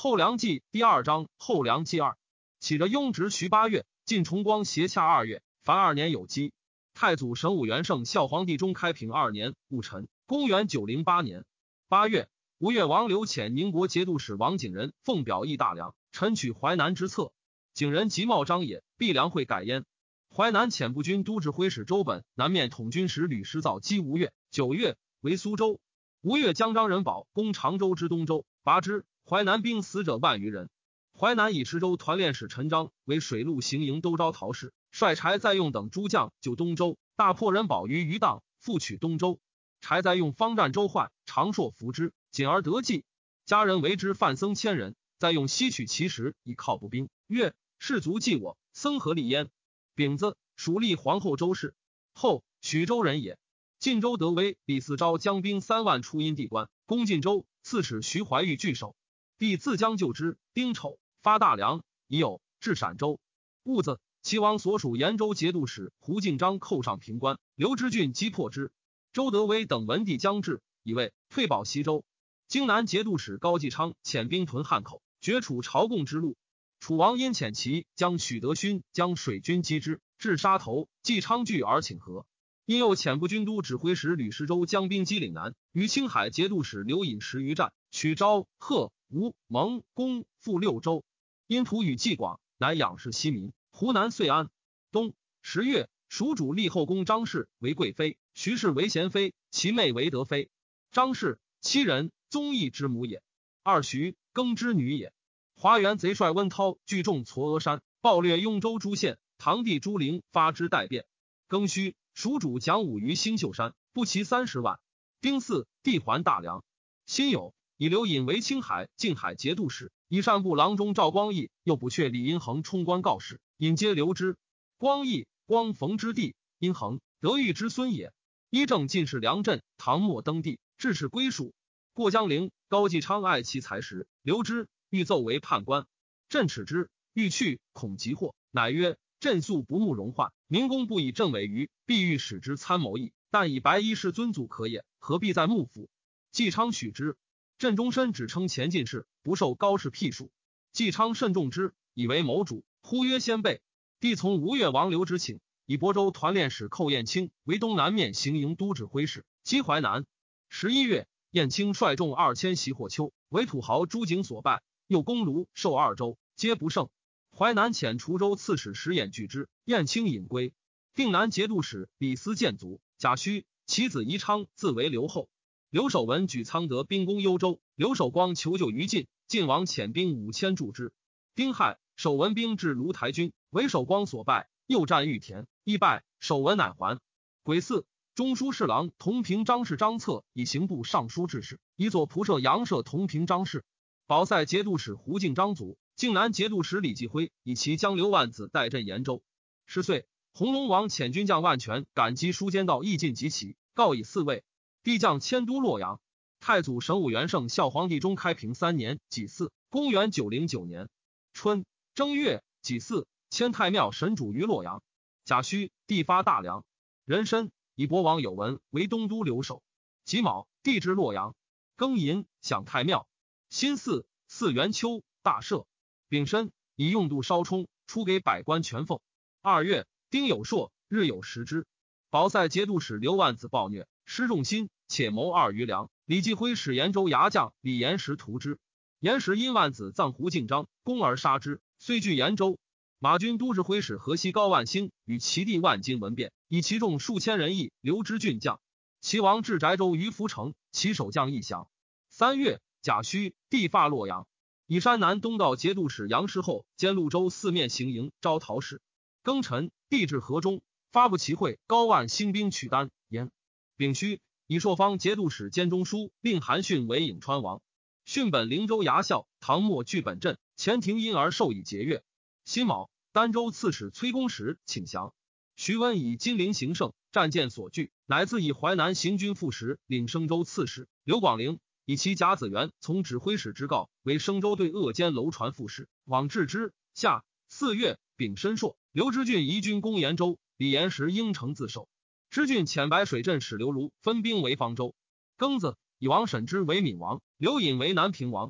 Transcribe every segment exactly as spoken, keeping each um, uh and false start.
后梁纪第二章后梁纪二。起着雍直徐八月，晋重光斜洽二月，凡二年有基。太祖神武元圣孝皇帝中开平二年戊辰，公元九零八年八月，吴越王刘潜宁国节度使王景仁奉表议大梁，臣取淮南之策。景仁即茂章也，必梁会改焉。淮南遣部军都指挥使周本南面统军使吕师造击吴越。九月，为苏州。吴越将张仁宝攻常州之东州，拔之。淮南兵死者万余人。淮南以池州团练使陈章为水陆行营都招陶氏，率柴在用等诸将救东州，大破人保于余荡，复取东州。柴在用方战周焕、长硕服之，仅而得计。家人为之范僧千人，在用西取其实，以犒步兵。曰：士卒忌我，僧何立焉？丙子，属立皇后周氏。后许州人也。晋州得威，李嗣昭将兵三万出阴地关，攻晋州，刺史徐怀钰据守。帝自将救之。丁丑，发大梁，已有至陕州。戊子，齐王所属延州节度使胡敬章寇上平关，刘知俊击破之。周德威等闻帝将至，以为退保西州。荆南节度使高继昌遣兵屯汉口，绝楚朝贡之路。楚王因遣其将许德勋将水军击之，至沙头，继昌惧而请和。因又遣部军都指挥使吕师周将兵击岭南，与青海节度使刘隐十余战，取昭、贺、吴、蒙、公复六州。因图与济广，乃仰视西民。湖南遂安。冬十月，蜀主立后宫张氏为贵妃，徐氏为贤妃，其妹为德妃。张氏，七人，宗义之母也。二徐，庚之女也。华元贼帅温韬聚众嵯峨山，暴掠雍州诸县，堂弟朱灵发之代变。庚戌，蜀主讲武于星宿山，不齐三十万。丁巳，帝还大梁。辛酉，以刘隐为青海、静海节度使，以善部郎中赵光义又补阙李因衡冲官告示，引皆留之。光义，光逢之弟，因衡，德育之孙也。依正进士梁镇，唐末登第，致使归属。过江陵，高继昌爱其才识，留之，欲奏为判官。朕耻之，欲去，恐急祸，乃曰：朕素不慕荣患，民公不以政委于，必欲使之参谋议，但以白衣是尊祖可也，何必在幕府？继昌许之。朕终身只称前进士，不受高士辟属。继昌甚重之，以为谋主，呼曰先辈。帝从吴越王刘之请，以亳州团练使寇彦卿为东南面行营都指挥使，击淮南。十一月，彦卿率众二千袭霍丘，为土豪朱景所败，又攻卢、寿二州，皆不胜。淮南遣滁州刺史石衍拒之，彦卿引归。定南节度使李斯建卒，贾诩其子宜昌自为留后。刘守文举苍德兵攻幽州，刘守光求救于晋，晋王遣兵五千助之。丁亥，守文兵至卢台军，为守光所败，又战玉田，亦败，守文乃还。癸巳，中书侍郎同平章事张策以刑部尚书致仕，以左仆射杨舍同平章事。保塞节度使胡敬章卒，靖南节度使李继辉以其将刘万子代镇延州。十岁，弘农王遣军将万全赶击书监道义进及其，告以嗣位。帝将迁都洛阳。太祖神武元圣孝皇帝中开平三年己巳，公元九零九年春正月己巳，迁太庙神主于洛阳。甲戌，帝发大梁。壬申，以博王有文为东都留守。己卯，帝至洛阳。庚寅，享太庙。辛巳，祀元丘，大赦。丙申，以用度稍充，出给百官全俸。二月，丁酉朔，日有食之。保塞节度使刘万子暴虐，失众心，且谋二余粮。李继辉使延州牙将李延时屠之。延时因万子葬胡敬章，攻而杀之，虽据延州。马军都指挥使河西高万兴与其弟万金闻变，以其众数千人议刘知俊将。齐王至宅州于涪城，其守将亦降。三月，甲戌，帝发洛阳。以山南东道节度使杨师厚兼潞州四面行营招讨使。庚辰，帝至河中，发布齐会，高万兴兵取丹延。丙戌，以朔方节度使兼中书令韩训为颍川王。训本灵州衙校，唐末据本镇，前庭因而授以节钺。辛卯，儋州刺史崔公时请降。徐温以金陵行胜，战舰所据，乃自以淮南行军副使，领生州刺史。刘广陵以其甲子元从指挥使之告，为生州对鄂监楼船副使，往治之。夏四月，丙申朔，刘知俊移军攻延州，李延时应城自守。知俊遣白水镇使刘卢分兵为方州。庚子，以王审之为闽王，刘隐为南平王。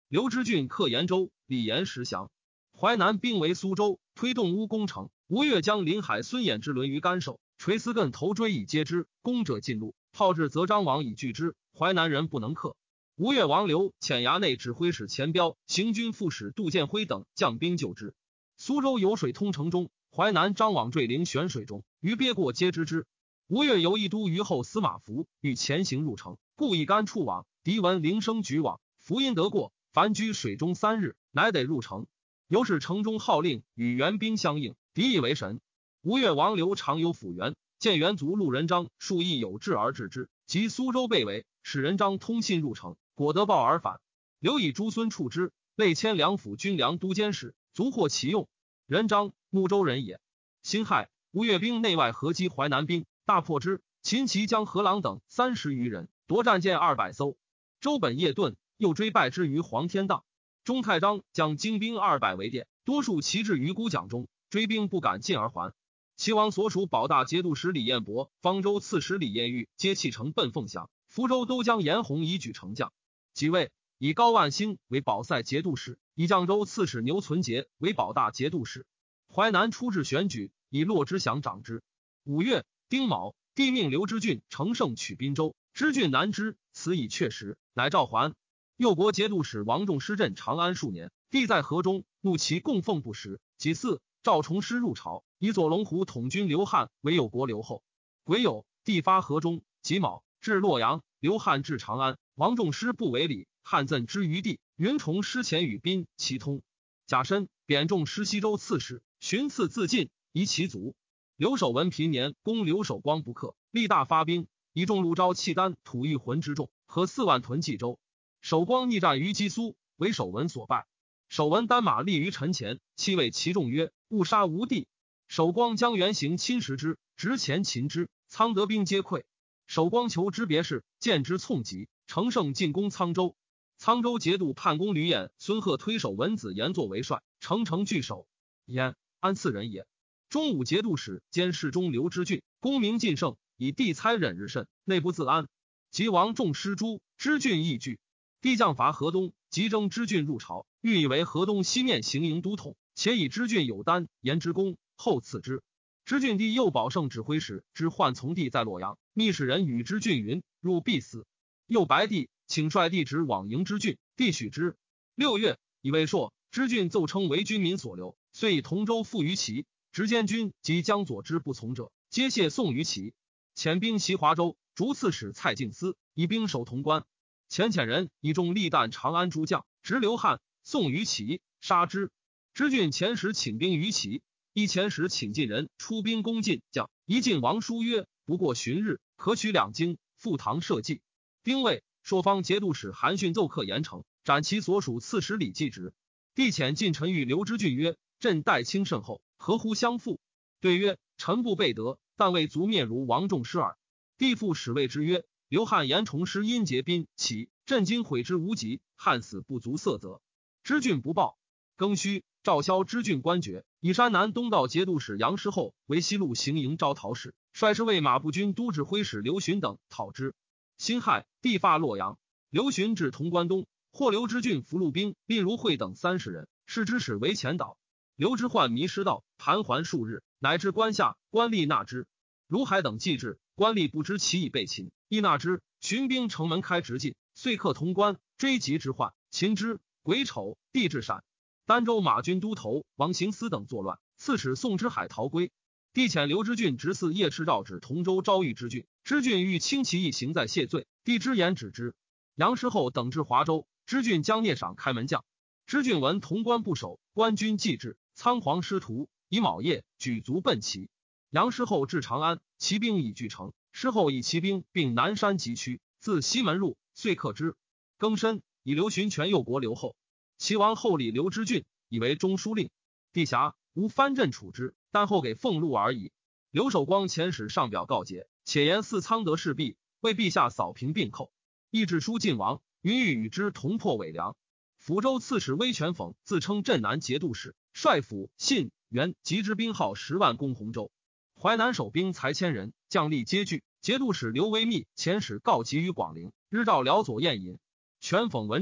刘知俊克延州，李严石降。淮南兵围苏州，推动乌攻城。吴越将临海孙衍之轮于干手，垂丝艮头追以接之，攻者进路，炮至则张王以拒之，淮南人不能克。吴越王刘遣衙内指挥使钱彪、行军副使杜建辉等将兵救之。苏州有水通城中，淮南张网坠陵悬水中，于鳖过皆知之。吴越由一都虞候司马孚欲前行入城，故以干触网，敌闻铃声举网，孚因得过，凡居水中三日，乃得入城。由是城中号令与援兵相应，敌以为神。吴越王刘常有辅元，见元卒陆仁章数亦有志而治之，及苏州被围，使仁章通信入城，果得报而返。刘以诸孙处之，累迁两府军粮都监使，足获其用。仁章睦州人也。辛亥，吴越兵内外合击淮南兵，大破之。秦齐将何郎等三十余人，夺战舰二百艘。周本夜遁，又追败之于黄天荡。钟太章将精兵二百为殿，多数骑至于孤蒋中，追兵不敢进而还。齐王所属保大节度使李彦博、方州刺史李彦玉皆弃城奔凤翔，福州都将严洪以举城将。即位，以高万兴为保塞节度使，以绛州刺史牛存节为保大节度使。淮南出至选举，以骆之祥掌之。五月，丁卯，帝命刘知俊乘胜取滨州，知俊难之，此以确实，乃召还。右国节度使王仲施镇长安数年，帝在河中，怒其供奉不实。己巳，赵崇师入朝，以左龙虎统军刘汉为右国留后。癸酉，帝发河中。己卯，至洛阳，刘汉至长安，王仲施不为礼，汉赠之于帝。云崇师前与宾齐通。甲申，贬仲施西州刺史，寻赐自尽，夷其族。刘守文平年，攻刘守光不克，力大发兵，以众陆昭契丹吐玉浑之众，合四万屯冀州。守光逆战于鸡苏，为守文所败。守文单马立于陈前，弃谓其众曰：勿杀无地。守光将原行侵蚀之，执前擒之，苍德兵皆溃。守光求之别事，见之从疾，乘胜进攻沧州。沧州节度判公吕衍、孙贺推守文子言作为帅，乘城拒守。焉，安次人也。中武节度使兼侍中刘知俊，功名尽盛，以帝猜忍日甚，内不自安。及王仲施诛，知俊亦惧。帝将伐河东，即征知俊入朝，欲以为河东西面行营都统，且以知俊有丹言之功，后赐之。知俊帝右保圣指挥使之患从帝在洛阳，密使人与知俊云：入必死。右白帝请率帝职往迎知俊，帝许之。六月，以为朔，知俊奏称为军民所留，遂以同州附于齐。执监军及江左之不从者，皆谢送于齐。遣兵袭华州，逐刺史蔡敬思，以兵守潼关。遣遣人以众力弹长安诸将，执刘汉，送于齐，杀之。知俊前时请兵于齐，一前时请进人出兵攻晋将，一晋王书曰：不过旬日，可取两京，赴唐社稷。丁未，朔方节度使韩逊奏克严城，斩其所属刺史李继直。帝遣近臣谕刘知俊曰：朕待卿甚厚，何乎相负？对曰：臣不备德，但未足面如王仲施耳。帝复使谓之曰：刘汉言重施因结宾齐，朕今悔之无及，汉死不足色泽。知俊不报。庚戌，赵萧知俊官爵，以山南东道节度使杨师厚为西路行营招讨使，率之为马步军都指挥使刘询等讨之。辛亥，帝发洛阳，刘询至潼关东，获刘知俊俘虏兵蔺如慧等三十人，视之使为前导。刘知焕迷失道，盘桓数日，乃至关下，官吏纳之。如海等既至，官吏不知其已被擒，亦纳之。巡兵城门开直进，遂克潼关，追及知焕，擒之。癸丑，帝至陕。儋州马军都头王行思等作乱，刺史宋之海逃归。帝遣刘知俊直嗣叶赤诏旨同州昭豫知俊，知俊欲轻其一行在谢罪，帝之言止之。杨师厚等至华州，知俊将聂赏开门将。知俊闻潼关不守，官军既至，仓皇失途，以卯夜举卒奔齐。杨师厚至长安，骑兵已据城，师厚以骑兵并南山急趋，自西门入，遂克之。庚申，以刘询权右国留后。齐王后礼刘知俊，以为中书令。帝辖，无藩镇处之，但后给俸禄而已。刘守光遣使上表告捷，且言四仓得事毕，为陛下扫平并寇。亦致书晋王，云欲与之同破伪良。抚州刺史威权讽自称镇南节度使，率府信元及之兵号十万攻洪州。淮南守兵才千人，将力皆惧。节度使刘维密遣使告急于广陵，日召辽左宴饮。权讽闻之，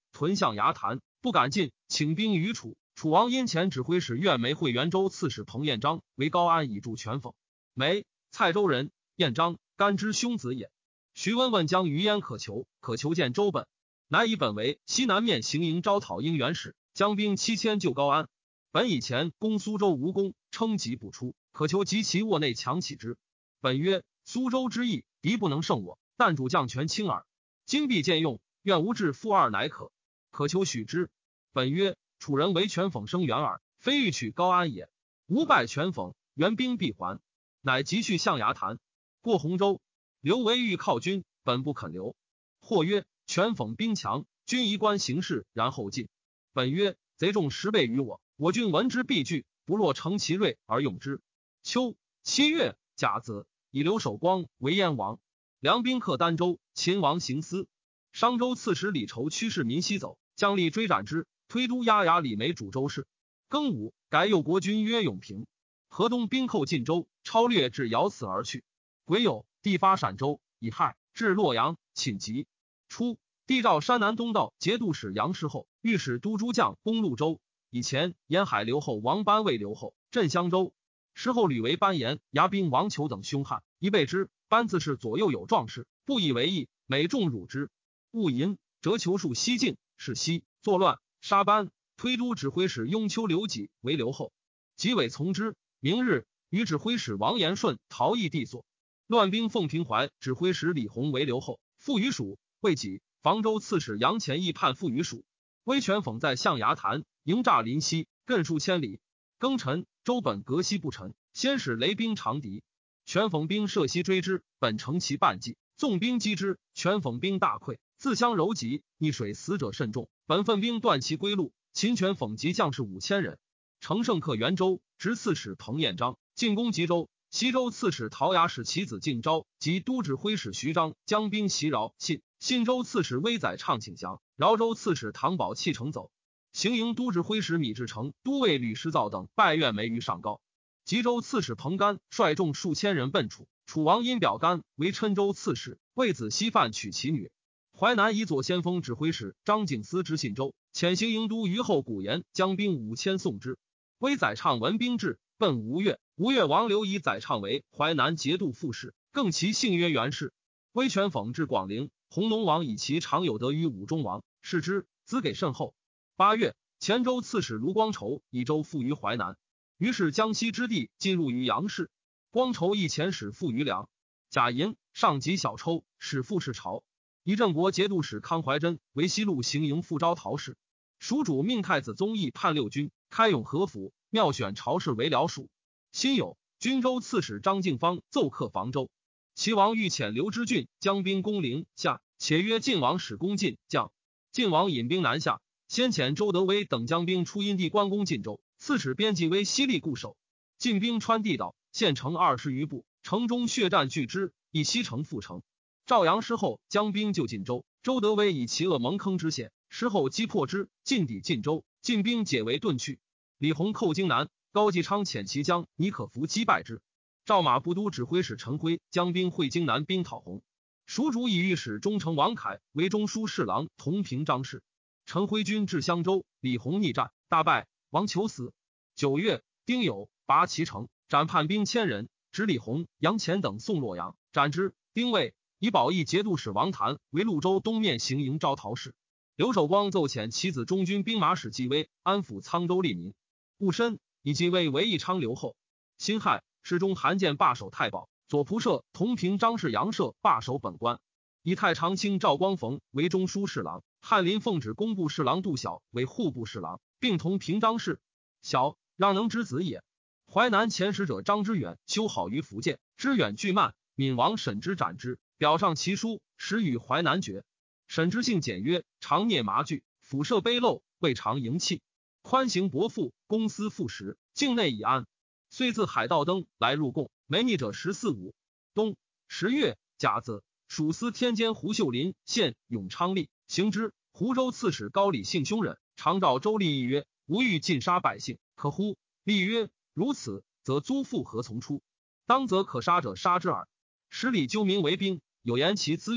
屯象牙潭，不敢进，请兵于楚。楚王因前指挥使苑梅会元州刺史彭彦章为高安以助全讽。梅，蔡州人，彦章，干之兄子也。徐温问将于焉可求，可求见周本，乃以本为西南面行营招讨应元使，将兵七千救高安。本以前攻苏州无功，称疾不出，可求及其卧内强起之。本曰：苏州之役，敌不能胜我，但主将权轻耳。今必见用，愿无至负二乃可。可求许之。本曰：楚人为权讽生援耳，非欲取高安也。吾败权讽，援兵必还。乃急去象牙潭，过洪州。刘维欲靠军，本不肯留。或曰：权讽兵强，军宜观形势，然后进。本曰：贼众十倍于我，我军闻之必惧，不若乘其锐而用之。秋七月甲子，以留守光为燕王。梁兵克儋州，秦王行思。商州刺史李仇驱士民西走，将吏追斩之，推都押牙李梅主州事。庚午，改右国君曰永平。河东兵寇晋州，超略至瑶祠而去。癸酉，地发陕州，以亥至洛阳，寝疾。初，帝诏山南东道节度使杨氏后，御史都诸将攻潞州。以前沿海留后王班为留后，镇襄州。事后屡为班延、牙兵王求等凶悍，一备之。班自是左右有壮士，不以为意，每众辱之。戊寅，折求数西境，是西作乱，杀班。推都指挥使雍丘刘己为留后，己委从之。明日，与指挥使王延顺逃逸地所。乱兵奉平怀指挥使李弘为留后，附于蜀。会己，房州刺史杨潜义叛附于蜀。威权讽在象牙潭，营诈临西，亘数千里。庚辰，周本革西不臣，先使雷兵长敌。权讽兵涉西追之，本乘其半骑，纵兵击之。权讽兵大溃，自相柔急，溺水，死者甚众。本分兵断其归路。秦权讽及将士五千人。乘胜克元州，执刺史彭彦章进攻吉州。西州刺史陶雅使其子敬昭及都指挥使徐章将兵袭饶信。信州刺史威载畅请降，饶州刺史唐宝弃城走。行营都指挥使米志成、都尉吕师造等拜愿梅于上高。吉州刺史彭干率众数千人奔楚，楚王因表干为郴州刺史，为子西范娶其女。淮南以左先锋指挥使张景思之信州，遣行营都虞后古言将兵五千送之。威载畅闻兵至，奔吴越。吴越王刘以载畅为淮南节度副使，更其姓曰元氏。威权讽至广陵，弘农王以其常有得于武中王，视之，资给甚厚。八月，黔州刺史卢光筹以州附于淮南，于是江西之地进入于杨氏。光筹以前使附于梁。贾银上及小抽，使副使朝。以郑国节度使康怀真为西路行营副招讨使。蜀主命太子宗义叛六军，开永和府，妙选朝士为辽属。辛酉，军州刺史张敬方奏克房州。齐王欲遣刘知俊将兵攻陵下，且约晋王使攻晋将。晋王引兵南下，先遣周德威等将兵出阴地关攻晋州，刺史边骑为西力固守。晋兵穿地道，县城二十余步，城中血战拒之，以西城复城。赵阳失后，将兵救晋州。周德威以其恶蒙坑之险，失后击破之，进抵晋州。晋兵解围遁去。李弘寇荆南，高继昌遣其将倪可孚击败之。赵马步都指挥使陈辉将兵会荆南兵讨洪。蜀主以御史中丞王凯为中书侍郎同平章事。陈辉军至襄州，李弘逆战，大败，王求死。九月，丁酉，拔其城，斩叛兵千人，执李弘、杨潜等送洛阳，斩之。丁未，以保义节度使王谭为潞州东面行营招讨使。刘守光奏遣其子中军兵马使纪威安抚沧州利民。戊申，以纪威为义昌留后。辛亥，侍中韩建罢守太保，左仆射同平章事杨舍罢守本官。以太常卿赵光逢为中书侍郎，翰林奉旨工部侍郎杜晓为户部侍郎，并同平章事。晓，让能之子也。淮南遣使者张之远修好于福建，之远拒慢，闵王审之斩之，表上其书，使与淮南决。审之性简约，常聂麻具，俯射卑陋，未尝盈气，宽行薄赋，公私赋实，境内已安。遂自海盗登来入贡，没逆者十四五。冬十月甲子，属司天监胡秀林献永昌吏行之。湖州刺史高礼性凶忍，常召周厉议曰：吾欲尽杀百姓，可乎？厉曰：如此，则租赋何从出？当则可杀者杀之耳。使礼纠民为兵，有言其自愿者，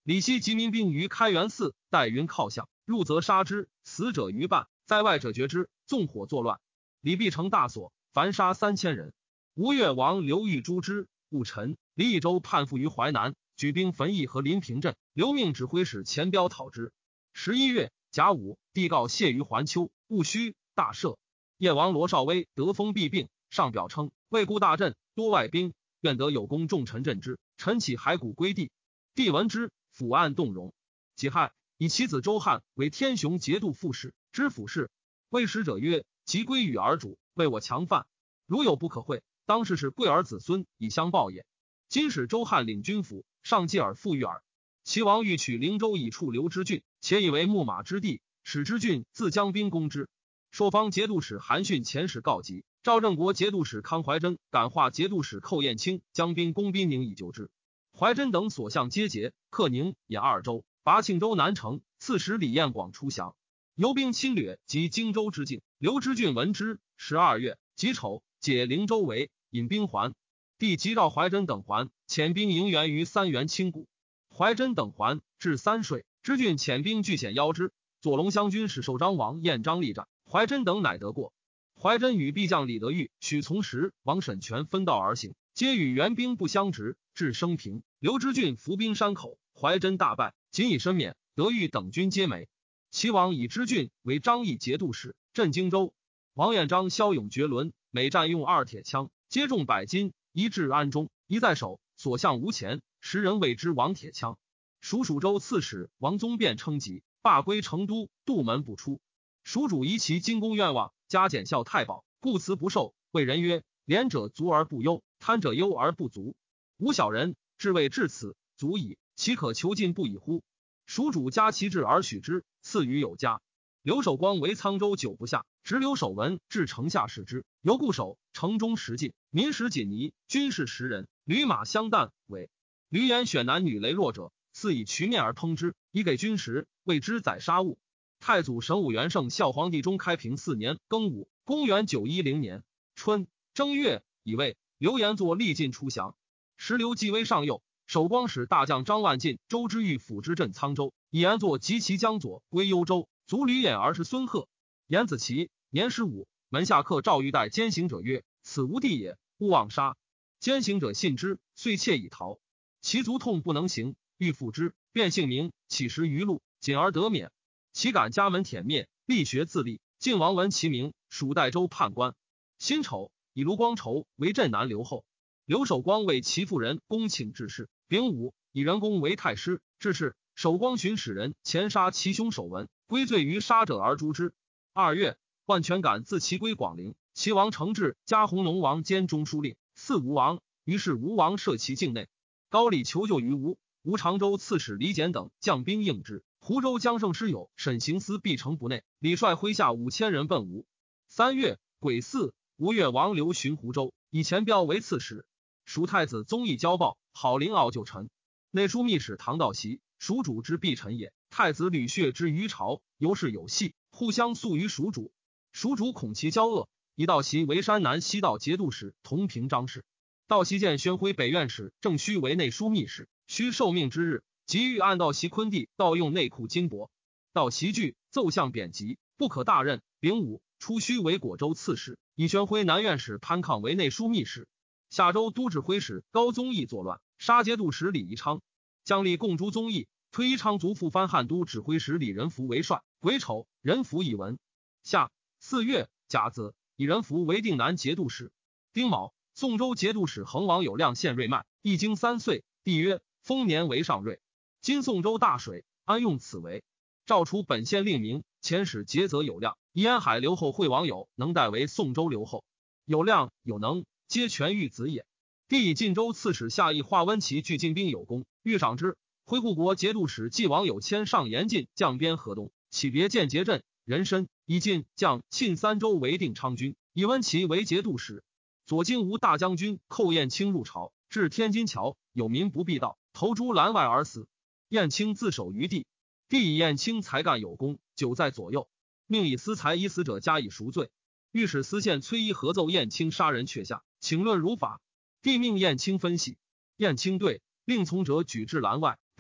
李希集民兵于开元寺，待云靠向，入则杀之，死者逾半，在外者决之，纵火作乱。李必成大所，凡杀三千人。吴越王刘裕诛之，戊辰，李义州叛附于淮南，举兵焚邑和临平镇，留命指挥使钱彪讨之。十一月甲午，帝告谢于环丘，戊戌，大赦。叶王罗绍威得封必病，上表称未固大阵，多外兵，愿得有功重臣镇之。臣起骸骨归地。帝闻之，抚案动容。己亥，以其子周汉为天雄节度副使，知府事。谓使者曰：即归与儿主，为我强犯，如有不可讳，当世是贵儿子孙以相报也。今使周汉领军府，上继而复遇耳。齐王欲取灵州以处刘知郡，且以为牧马之地，使之郡自将兵攻之。朔方节度使韩逊遣使告急，赵正国节度使康怀真、感化节度使寇彦卿将兵攻宾宁以救之。怀真等所向皆捷，克宁、兖二州，拔庆州南城。刺史李彦广出降，游兵侵略及荆州之境。刘知郡闻之，十二月己丑，解灵州围，引兵还。帝即召怀真等还，遣兵迎援于三原清谷。怀真等还，至三水，知郡遣兵据险邀之。左龙乡军使受张王彦章力战，怀真等乃得过。怀真与裨将李德裕、许从时、王审权分道而行，皆与援兵不相执，至升平。刘知郡伏兵山口，怀真大败，仅以身免。德裕等军皆没。齐王以知郡为张义节度使，镇荆州。王彦章骁勇绝伦，每战用二铁枪，皆重百斤，一至安中，一在手，所向无前，时人谓之王铁枪。属蜀州刺史王宗辩称疾，罢归成都，杜门不出。蜀主疑其金宫愿望，加减效太保，故辞不受。谓人曰：廉者足而不忧，贪者忧而不足。吾小人至谓至此，足矣，岂可囚禁不已乎？蜀主加其志而许之，赐予有加。刘守光为沧州久不下，执刘守文至城下视之，犹固守，城中食尽，民食锦泥，军士十人，驴马相啖，尾驴言选男女羸弱者，赐以渠面而烹之，以给军食，谓之宰杀物。太祖神武元圣孝皇帝中开平四年庚午，公元九一零年春正月，以为刘延作力尽出降。时刘继威上右，守光使大将张万进、周之玉辅之镇沧州，以延作及其江左归幽州，卒吕衍儿是孙贺。延子其年十五，门下客赵玉带奸行者曰：此无地也，勿妄杀。奸行者信之，遂窃以逃。其卒痛不能行，欲复之，便姓名，起食于路，仅而得免。其感家门舔灭，力学自立。晋王闻其名，属代州判官。辛丑，以卢光筹为镇南留后。刘守光为其妇人恭请致仕。丙午，以人公为太师，致仕。守光寻使人前杀其兄守文，归罪于杀者而诛之。二月，万全感自其归广陵。齐王承制加弘农王兼中书令，赐吴王。于是吴王设其境内。高丽求救于吴，吴常州刺史李简等将兵应之。湖州江胜师友沈行司必城不内，李率麾下五千人奔吴。三月癸巳，吴越王刘询湖州，以钱彪为刺史。蜀太子宗义交报，郝灵傲旧臣。内书密使唐道习，蜀主之必臣也。太子吕血之于朝，由是有隙，互相诉于蜀主。蜀主恐其骄恶，以道习为山南西道节度使，同平章事。道习见宣徽北院使郑须为内书密使，须受命之日，即欲按道习昆地盗用内库金帛。道习惧，奏相贬籍，不可大任。丙午，出须为果州刺史，以宣徽南院使潘抗为内书密使。夏州都指挥使高宗义作乱，杀节度使李宜昌，将立共诛宗义，推宜昌族复藩汉都指挥使李仁福为帅。癸丑，仁福以闻。夏四月甲子，以仁福为定南节度使。丁卯，宋州节度使恒王有亮献瑞麦，一经三岁。帝曰：丰年为上瑞。今宋州大水，安用此为？诏除本县令名，遣使节则有亮，以安海留后惠王有能代为宋州留后。有亮有能，皆权欲子也。帝以晋州刺史夏邑华温齐聚进兵有功，欲赏之。回护国节度使纪王有谦上严禁将边河东，起别建节镇人参，以晋将沁三州为定昌军，以温齐为节度使。左金吾大将军寇彦卿入朝，至天津桥，有民不避道，投诸栏外而死。彦卿自守于地。帝以彦卿才干有功，久在左右，命以私财已死者加以赎罪。御史司宪崔一合奏彦卿杀人阙下，请论如法。帝命彦卿分析。彦卿对，令从者举至栏外，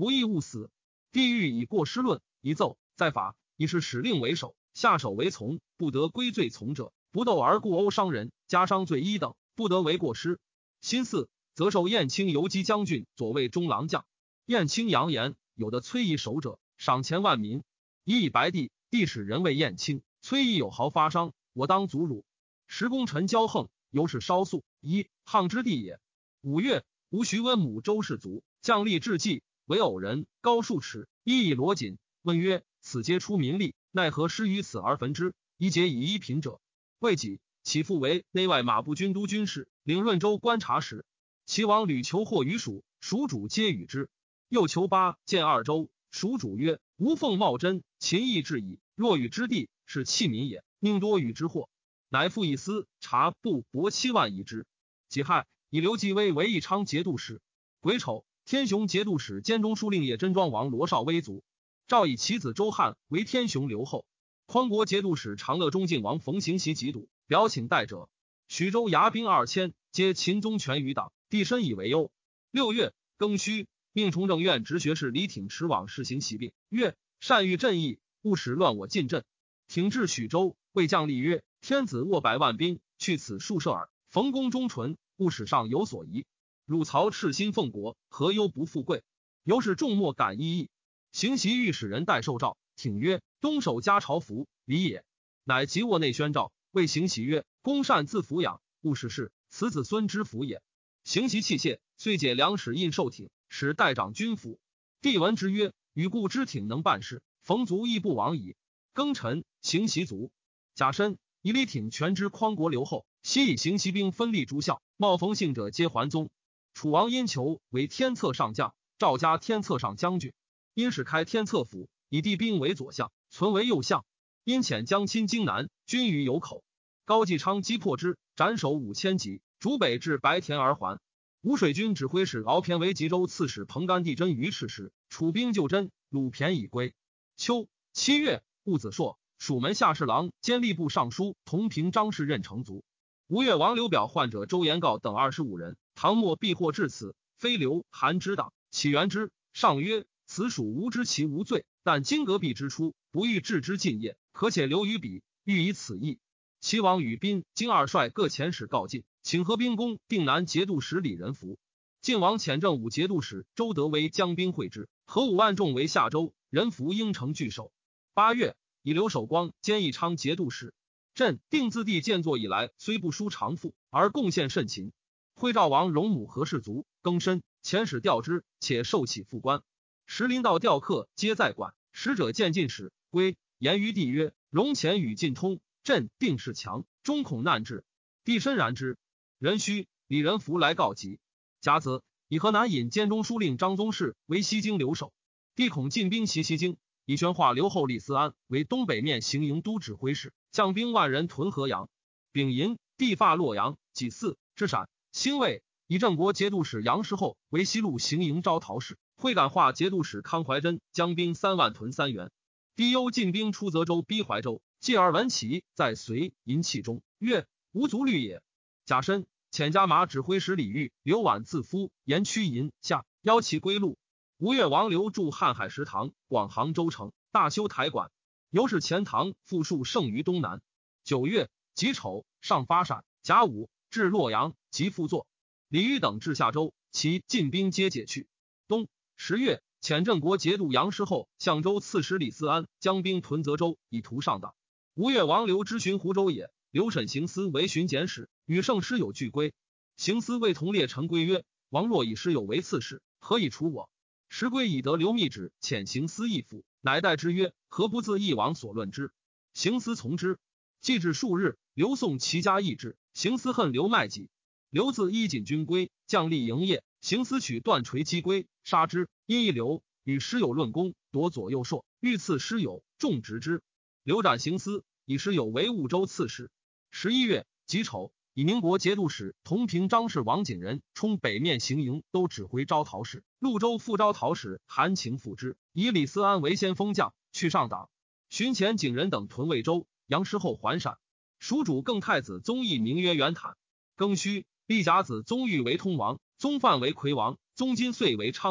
不义勿死。帝欲以过失论，一奏在法，以是使令为首，下手为从，不得归罪从者，不斗而故殴伤人，加伤罪一等，不得为过失。辛巳，则授燕青游击将军、左卫中郎将。燕青扬言，有的崔夷守者，赏钱万民。以以白帝，帝使人为燕青，崔夷有毫发伤，我当阻辱。时功臣骄横，由是稍肃，一汉之地也。五月，吴徐温母周氏族将吏至济，为偶人，高数尺，衣以罗锦。问曰：此皆出民力，奈何失于此而焚之？宜节以一品者。未几，其父为内外马步军都军事，领润州观察使。齐王屡求获于蜀，蜀主皆与之。又求巴见二州，蜀主曰：吾奉茂贞，秦邑至矣。若与之地，是弃民也，宁多与之祸。乃复以司察布帛七万以之。己亥，以刘继威为义昌节度使。癸丑，天雄节度使兼中书令叶真庄王罗绍威族。诏以其子周汉为天雄留后。匡国节度使长乐中靖王冯行袭疾笃，表请代者。徐州牙兵二千，皆秦宗权余党，帝深以为忧。六月庚戌，命崇政院直学士李挺持往施行袭病，曰：善欲朕意，勿使乱我进镇。挺至许州，谓将吏曰：天子握百万兵，去此数射耳。冯公忠纯，勿使上有所疑。汝曹赤心奉国，何忧不富贵？由是众莫敢异议。行袭御史人代受诏，挺曰：东守家朝服，礼也。乃即卧内宣诏，谓行袭曰：公善自抚养，勿使事，此子孙之福也。行袭器械，遂解粮使印绶挺，使代掌军府。帝闻之曰：与故之挺能办事，冯族亦不亡矣。庚辰，行袭卒。甲申，以李挺全知匡国留后，悉以行袭兵分立诸校，冒冯姓者皆还宗。楚王因求为天策上将，赵加天策上将军。因使开天策府，以帝兵为左相，存为右相。因遣将亲荆南，军于有口。高继昌击破之，斩首五千级，逐北至白田而还。吴水军指挥使敖骈为吉州刺史彭干地真于赤时，楚兵救真，鲁骈已归。秋七月，戊子朔，蜀门下侍郎兼吏部尚书同平张氏任城卒。吴越王刘表患者周延告等二十五人，唐末避祸至此，非刘韩之党，起源之。上曰：此属无知其无罪，但今革璧之初，不欲治之尽业，可且留于彼，欲以此意。齐王与宾、荆二帅各遣使告晋，请合兵攻定南节度使李仁福。晋王遣正武节度使周德为将兵会之，合五万众为下州，仁福应城拒守。八月，以刘守光兼义昌节度使。朕定自帝建作以来，虽不输长赋，而贡献甚勤。徽赵王荣母何氏族更深，遣使调之，且受起副官。时临道调客皆在馆，使者见进使归，言于帝曰：荣前与晋通，朕定是强，终恐难至。帝深然之。壬戌，李仁福来告急。甲子，以河南尹兼中书令张宗室为西京留守。帝恐进兵袭西京，以宣化留后李思安为东北面行营都指挥使，将兵万人屯河阳。丙寅，帝发洛阳。己巳，至陕。辛未，以郑国节度使杨师厚为西路行营招讨使，会感化节度使康怀真将兵三万屯三原。帝忧进兵出泽州逼怀州，继而闻其在隋淫气中，曰：无足虑也。甲申，遣加马指挥使李煜、刘琬自夫沿驱营下，邀其归路。吴越王刘筑瀚海食堂，广杭州城，大修台馆，由是钱塘复数盛于东南。九月己丑，上发陕。甲午，至洛阳，即复作。李煜等至下州，其进兵皆解去。冬十月，遣郑国节度杨师厚、相州刺史李思安将兵屯泽州，以图上党。吴越王刘之巡湖州也，刘审行司为巡检使，与圣师有俱归。行司谓同列臣归曰：王若以师友为刺史，何以除我？时归以得刘密旨，遣行司议府，乃代之曰：何不自议王所论之？行司从之。既至数日，刘宋齐家议之，行司恨刘麦己。刘自衣锦军归，将吏营业，行司取断锤击归，杀之。因一刘与师友论功，夺左右硕，欲赐师友，重执之。刘斩行司，以师友为婺州刺史。十一月己丑，以宁国节度使同平张氏王景仁充北面行营都指挥招讨使，潞州副招讨使韩情复之，以李思安为先锋将，去上党。巡前景仁等屯魏州，杨师厚还陕。蜀主更太子宗义名曰元坦。庚戌，立甲子宗玉为通王，宗范为魁王，宗金岁为昌王，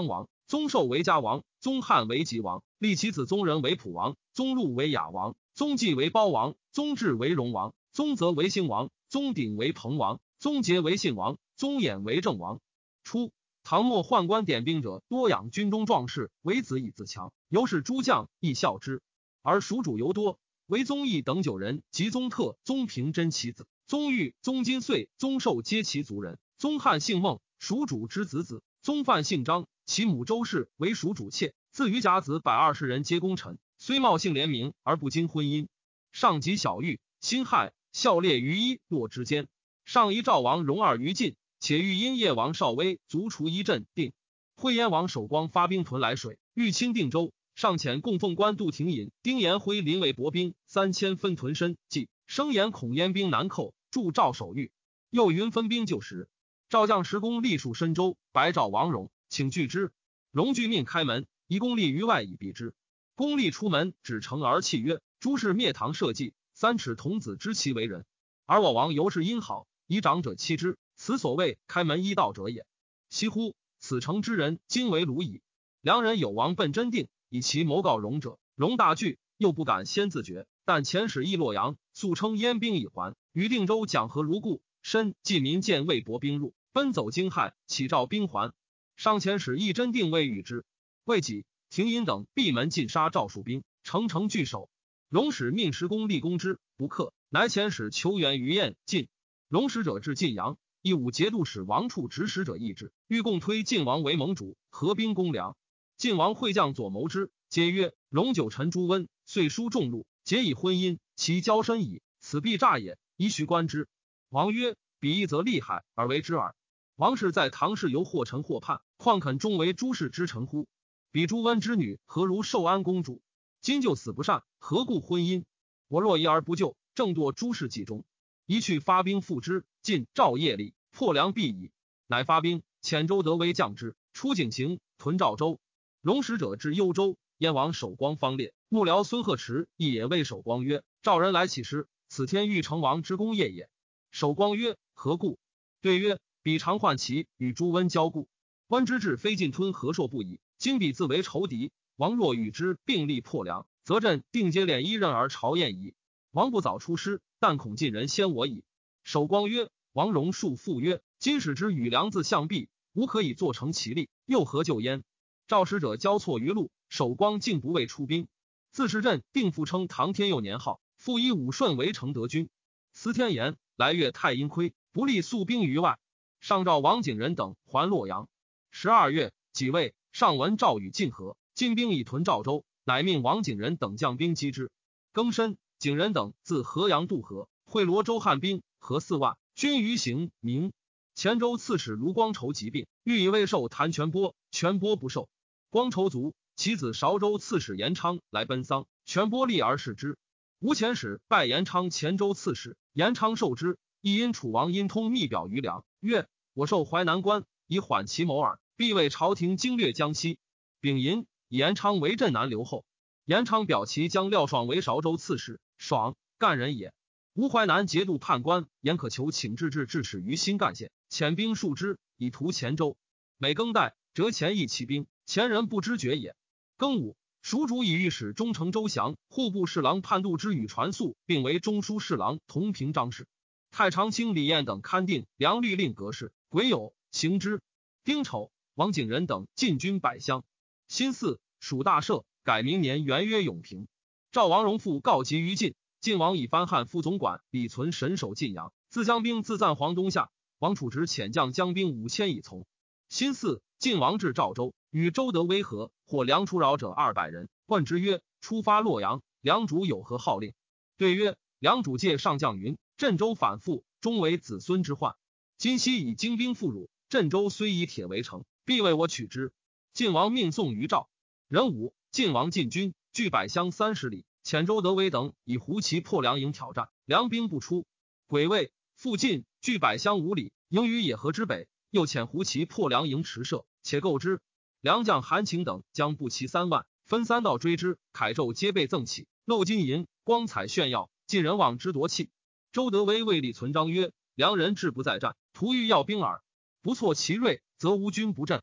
宗寿为嘉王，宗翰为吉王，立其子宗仁为普王，宗禄为雅王，宗纪为包王，宗治为荣王，宗泽为兴王，宗鼎为彭王，宗节为信王，宗衍为正王。初，唐末宦官点兵者多养军中壮士，为子以自强，由是诸将亦效之。而蜀主尤多，为宗义等九人，及宗特、宗平真其子，宗玉、宗金岁、宗寿皆其族人。宗翰姓孟，蜀主之子子。宗范姓张，其母周氏为蜀主妾，自于甲子百二十人皆功臣，虽茂姓联名而不经婚姻。上及小玉，辛亥，孝烈于一洛之间。上夷赵王荣二于晋，且欲因叶王少威卒除一镇定。惠燕王守光发兵屯来水，欲侵定州，上遣供奉官杜廷尹、丁延辉临为薄兵三千分屯深，即声言恐燕兵难寇，助赵守御。又云分兵救时。赵将石公立戍深州，白赵王荣，请拒之。荣拒命开门，夷公立于外以避之。公立出门，指城而泣曰：“诸事灭唐社稷，三尺童子知其为人。而我王尤是因好，以长者欺之，此所谓开门依道者也。惜乎！此城之人，今为虏矣。”良人有王奔真定，以其谋告荣者，荣大惧，又不敢先自决。但遣使诣洛阳，素称燕兵已还，于定州讲和如故。申，晋民见魏博兵入，奔走惊骇，启召兵还。上遣使诣真定未与之。未几，廷尹等闭门尽杀赵戍兵，城城拒守。荣使命石公立攻之，不克，乃遣使求援于燕晋。荣使者至晋阳，义武节度使王处指使者议之，欲共推晋王为盟主，合兵攻梁。晋王会将左谋之，皆曰：“荣九臣朱温，遂书重禄，结以婚姻，其交深矣，此必诈也，宜须观之。”王曰：“彼一则厉害而为之耳。王氏在唐氏犹或臣或叛，况肯终为诸氏之臣乎？彼朱温之女何如寿安公主？今就死不善，何故婚姻？我若疑而不救，正堕诸氏计中。宜去发兵复之。晋赵业力，破梁必矣。”乃发兵，遣周德威将之，出井陉，屯赵州。荣使者至幽州，燕王守光方烈，幕僚孙鹤池亦也谓守光曰：“赵人来起师，此天欲成王之功业也。”守光曰：“何故？”对曰：“彼常患其与朱温交故，温之志非尽吞何硕不已。今彼自为仇敌，王若与之并立破梁，则朕定接敛一刃而朝燕矣。王不早出师，但恐晋人先我矣。”守光曰：“王荣述复曰：今使之与梁自相避，吾可以做成其力，又何救焉？”赵使者交错于路，守光竟不为出兵。自是朕定复称唐天佑年号，复以武顺为承德军。司天言来月太阴亏，不利宿兵于外。上召王景仁等还洛阳。十二月，己未，上闻赵与晋和，晋兵已屯赵州，乃命王景仁等将兵击之。庚申，景仁等自河阳渡河，会罗州汉兵合四万，军于行明。黔州刺史卢光筹疾病，欲以未受谭全波，全波不受。光筹卒，其子韶州刺史严昌来奔丧，全波立而视之。吴遣使拜严昌黔州刺史，严昌受之。亦因楚王因通密表于梁，曰：“我受淮南关，以缓其谋耳，必为朝廷经略江西。”丙寅，以严昌为镇南留后。严昌表其将廖爽为韶州刺史，爽，干人也。吴淮南节度判官严可求请至至致使于新干县，遣兵数之，以图黔州。每更代，折黔邑其兵，黔人不知觉也。庚午，蜀主以御史中丞周祥、户部侍郎判度之与传宿，并为中书侍郎同平章事。太常卿李彦等勘定梁律令格式，癸酉，行之。丁丑，王景仁等进军百乡。辛巳，蜀大赦，改明年元曰永平。赵王荣复告急于晋，晋王以藩汉副总管李存神守晋阳，自将兵自赞黄东下。王处直遣将将兵五千以从。辛巳，晋王至赵州，与周德威和，获梁出扰者二百人，问之曰：“出发洛阳，梁主有何号令？”对曰：“梁主借上将云，镇州反复，终为子孙之患。今夕以精兵复辱，镇州虽以铁为城，必为我取之。”晋王命送于赵。壬午，晋王进军，据百乡三十里，遣周德威等以胡骑破梁营挑战，梁兵不出。癸未，复进，据百乡五里，营于野河之北，又遣胡骑破梁营驰射，且构之。梁将韩请等将步骑三万，分三道追之，铠胄皆被赠起，镂金银，光彩炫耀，晋人望之夺气。周德威为李存章曰：“梁人志不在战，徒欲要兵耳。不挫其锐，则无军不振。”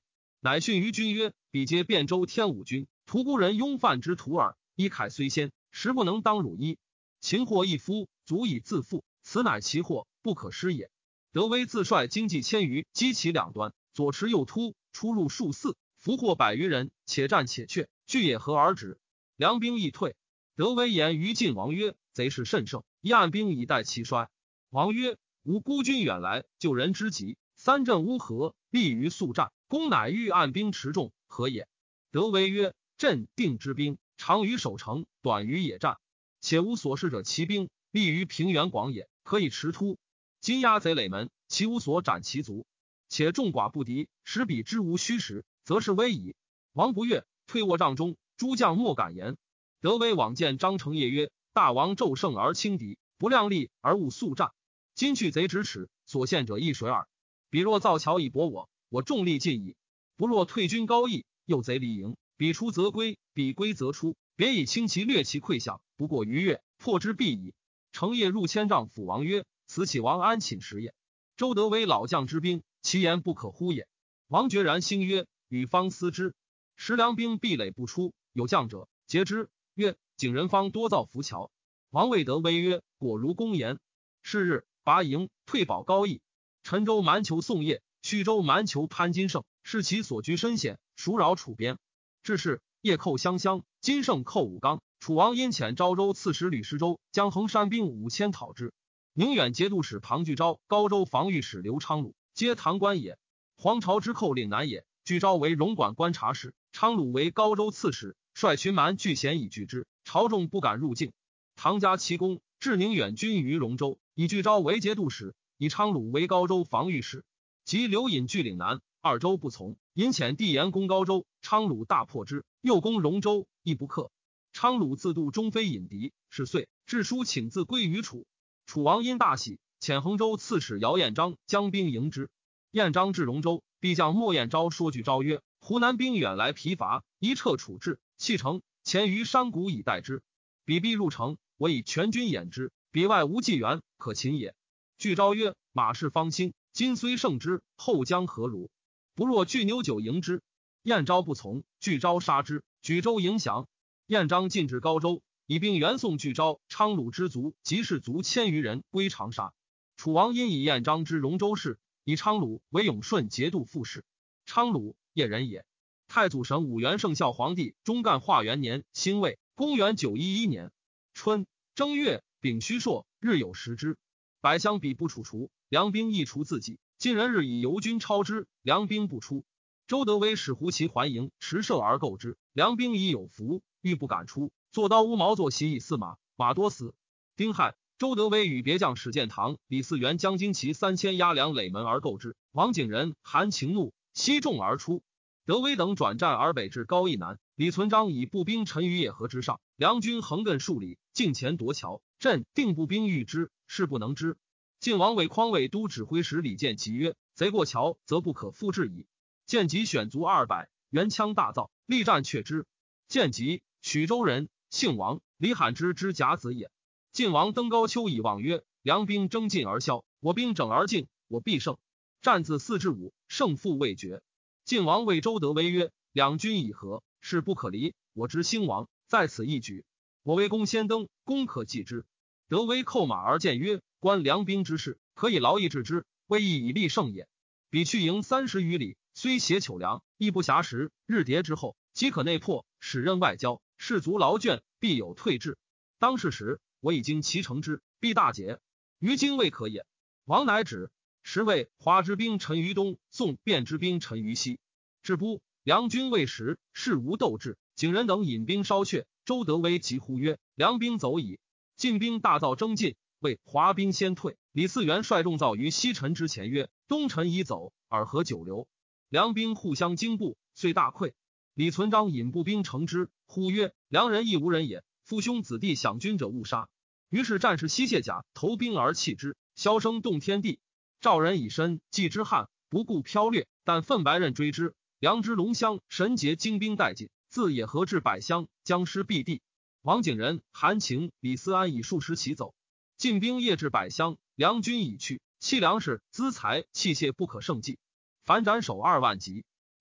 乃训于军曰：彼皆汴州天武军，屠孤人庸犯之徒耳。一凯虽先，实不能当汝一。擒获一夫，足以自负，此乃其祸，不可失也。德威自率精骑千余，击其两端，左持右突，出入数四，俘获百余人，且战且却，俱也合而止。梁兵亦退。德威言于晋王曰：贼势甚盛，一按兵以待其衰。王曰：吾孤军远来，救人之急，三镇乌合，立于速战，公乃欲按兵持重，何也？德威曰：镇定之兵，长于守城，短于野战，且无所事者骑兵，立于平原广野，可以持突。今压贼垒门，其无所斩其足，且众寡不敌，使彼之无虚实，则是危矣。王不悦，退卧帐中，诸将莫敢言。德威往见张承业曰：大王骤胜而轻敌，不量力而勿速战。今去贼咫尺，所献者一水耳。彼若造桥以搏我，我众力尽矣；不若退军高邑，诱贼离营，彼出则归，彼归则出，别以轻骑掠其溃饷，不过逾越，破之必矣。承业入千丈，抚王曰：此启王安寝时也。周德威老将之兵，其言不可乎也。王决然兴曰：与方思之。时梁兵壁垒不出，有将者截之，曰：景仁方多造浮桥。王谓德威曰：果如公言。是日，拔营，退保高邑。陈州蛮酋宋业，徐州蛮酋潘金胜，是其所居深险，孰扰楚边。至是，夜寇湘乡，金胜寇武冈。楚王因遣昭州刺史吕师州将衡山兵五千讨之。宁远节度使庞聚昭、高州防御使刘昌鲁，皆唐官也。黄巢之寇岭南也。聚昭为荣管观察使，昌鲁为高州刺史，率群蛮拒险以拒之，朝众不敢入境。唐加其功，至宁远军于荣州，以聚昭为节度使，以昌鲁为高州防御使。及刘隐据岭南，二州不从，因遣帝延攻高州，昌鲁大破之，又攻荣州，亦不克。昌鲁自度中非引敌，是岁，致书请自归于楚。楚王因大喜，遣衡州刺史姚彦章将兵迎之。彦章至荣州，必将莫彦昭说聚昭曰：湖南兵远来疲乏，一撤楚至，弃城，潜于山谷以待之。彼必入城，我以全军掩之，彼外无济援，可擒也。聚昭曰：马氏方兴，今虽胜之，后将何如？不若聚牛酒迎之。彦昭不从，聚昭杀之，举州迎降。彦章进至高州，以兵援送聚昭，昌鲁之卒及士卒千余人归长沙。楚王因以彦章之荣州事，以昌鲁为永顺节度副使。昌鲁，叶人也。太祖神武元圣孝皇帝中干化元年辛未，公元九一一年春正月丙戌朔，日有食之。百乡比不楚除，梁兵亦除自己。晋人日以游军超之，梁兵不出。周德威使胡骑还营，持射而构之，梁兵已有伏，欲不敢出，坐刀乌毛坐骑以驷马，马多死。丁亥，周德威与别将史建堂、李嗣源将精骑三千压梁垒门而构之。王景仁、韩情怒，西众而出。德威等转战而北至高邑南，李存璋以步兵陈于野河之上，梁军横亘数里，近前夺桥，镇定步兵遇之，势不能支。晋王为匡卫都指挥使李建吉曰：贼过桥，则不可复制矣。建吉选卒二百，原枪大造，力战却之。建吉，许州人，姓王，李罕之之甲子也。晋王登高丘以望曰：梁兵争进而消，我兵整而进，我必胜。战自四至五，胜负未决。晋王谓周德威曰：两军已合，势不可离，我知兴亡，在此一举。我为公先登，公可继之。德威叩马而谏曰：观梁兵之势，可以劳役治之，未易以立胜也。彼去营三十余里，虽携糗粮，亦不暇食，日迭之后，即可内破，使任外交，士卒劳倦，必有退至。当是时，我已经其成之，必大捷，于今未可也。王乃止。时谓华之兵陈于东，宋卞之兵陈于西。至不，梁军未食，事无斗志。景仁等引兵稍却，周德威急呼曰：梁兵走矣！晋兵大造征进，谓华兵先退。李嗣源率众造于西陈之前曰：东陈已走，尔何久留？梁兵互相惊怖，遂大溃。李存璋引步兵乘之，呼曰：梁人亦无人也，父兄子弟享军者勿杀。于是战士悉卸甲，投兵而弃之，箫声动天地。赵人以身继之汉，不顾剽掠，但奋白刃追之。梁之龙乡神节精兵殆尽，自野河至百乡，僵尸蔽地。王景仁、韩情、李思安以数十骑走。晋兵夜至百乡，梁军已去，弃粮食、资财、器械不可胜计，凡斩首二万级。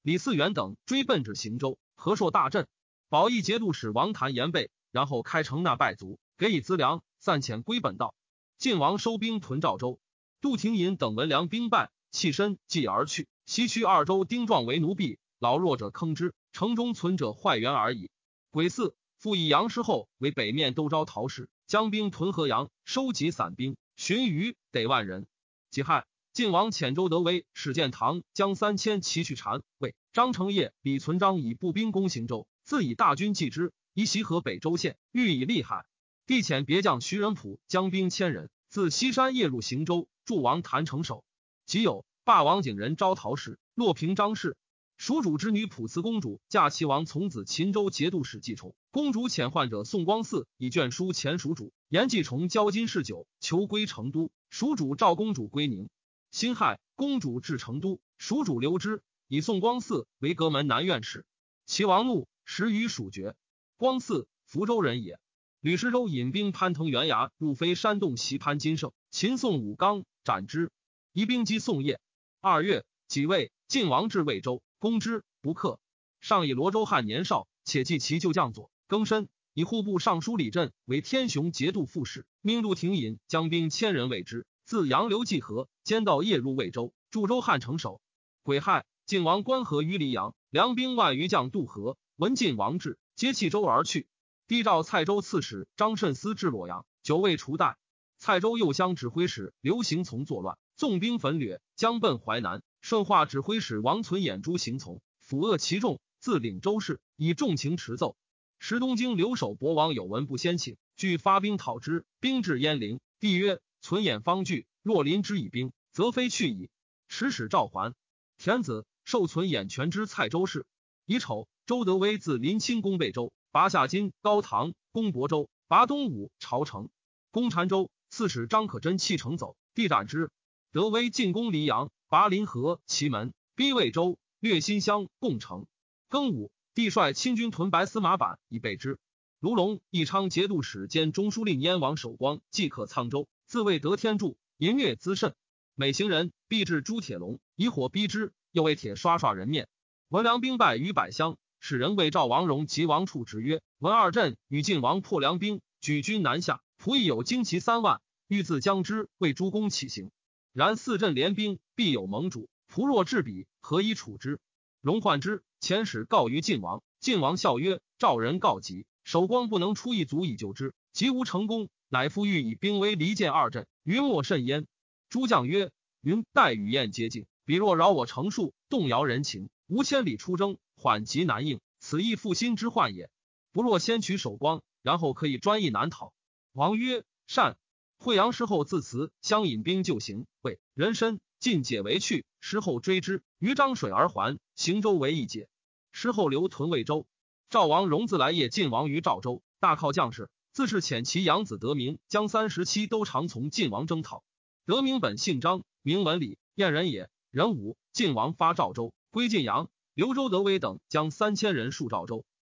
李嗣源等追奔至行州，和硕大震。保义节度使王谭言备，然后开城纳败卒，给以资粮，散遣归本道。晋王收兵屯赵州，杜廷隐等闻粮兵败，弃身继而去。西区二州丁壮为奴婢，老弱者坑之，城中存者坏员而已。癸巳，复以杨师厚为北面都招陶氏，将兵屯河阳，收集散兵，寻余得万人。己亥，晋王遣周德威、史建堂将三千骑去禅魏。张承业、李存璋以步兵攻行州，自以大军继之，以袭河北州县，欲以利害。帝遣别将徐仁溥将兵千人，自西山夜入行州，助王谭城守。即有霸王景人招陶氏、洛平张氏。蜀主之女普慈公主嫁齐王从子秦州节度使季崇，公主遣患者宋光嗣以卷书前蜀主，言季崇交金嗜酒，求归成都。蜀主召公主归宁。辛亥，公主至成都，蜀主留之，以宋光嗣为阁门南院使。齐王怒，时与蜀绝。光嗣，福州人也。吕师周引兵攀藤原崖，入飞山洞袭潘金胜，秦宋武刚，斩之。移兵击宋业。二月，己未，晋王至魏州，攻之，不克。上以罗州汉年少，且继其旧将左更深，以户部尚书李振为天雄节度副使，命杜廷隐将兵千人为之，自杨流济河，兼道夜入魏州，驻州汉城守。癸亥，晋王关河于黎阳，粮兵万余将渡河，闻晋王至，皆弃州而去。帝召蔡州刺史张慎思至洛阳，久未除代。蔡州右乡指挥使刘行从作乱，纵兵焚掠，将奔淮南。顺化指挥使王存眼诛行从，抚扼其众，自领州事，以重情持奏。时东京留守博王有闻不先请，俱发兵讨之，兵至鄢陵。帝曰：存眼方惧，若临之以兵，则非去矣。使使召还。田子受存眼全知蔡州事。乙丑，周德威自临清攻贝州，拔下金、高唐，攻亳州，拔东武、朝城，攻澶州。刺史张可真弃城走，帝斩之。德威进攻黎阳，拔临河、祁门，逼魏州，略新乡、共城。庚午，帝率亲军屯白司马坂以备之。卢龙、义昌节度使兼中书令燕王守光即克沧州，自谓得天助，淫虐滋甚。每行人必至朱铁笼，以火逼之，又为铁刷刷人面。闻梁兵败于百乡，使人谓赵王荣及王处直曰：闻二镇与晋王破梁兵，举军南下，仆役有精骑三万，欲自将之，为诸公起行。然四镇联兵，必有盟主，仆若至彼，何以处之？荣患之，遣使告于晋王。晋王笑曰：赵人告急，守光不能出一卒以救之，即无成功，乃复欲以兵威离间二镇，云莫甚焉。诸将曰：云待与燕接近，彼若扰我城戍，动摇人情，无千里出征，缓急难应，此亦负心之患也。不若先取守光，然后可以专议难讨。王曰：善。惠阳师后自辞，相引兵就行。谓人参尽解为去，师后追之，于漳水而还，行州为一解。师后留屯魏州。赵王荣自来谒晋王于赵州，大犒将士，自是遣其养子德明将三十七都常从晋王征讨。德明本姓张，名文礼，燕人也。壬午，晋王发赵州，归晋阳，刘周德威等将三千人戍赵州。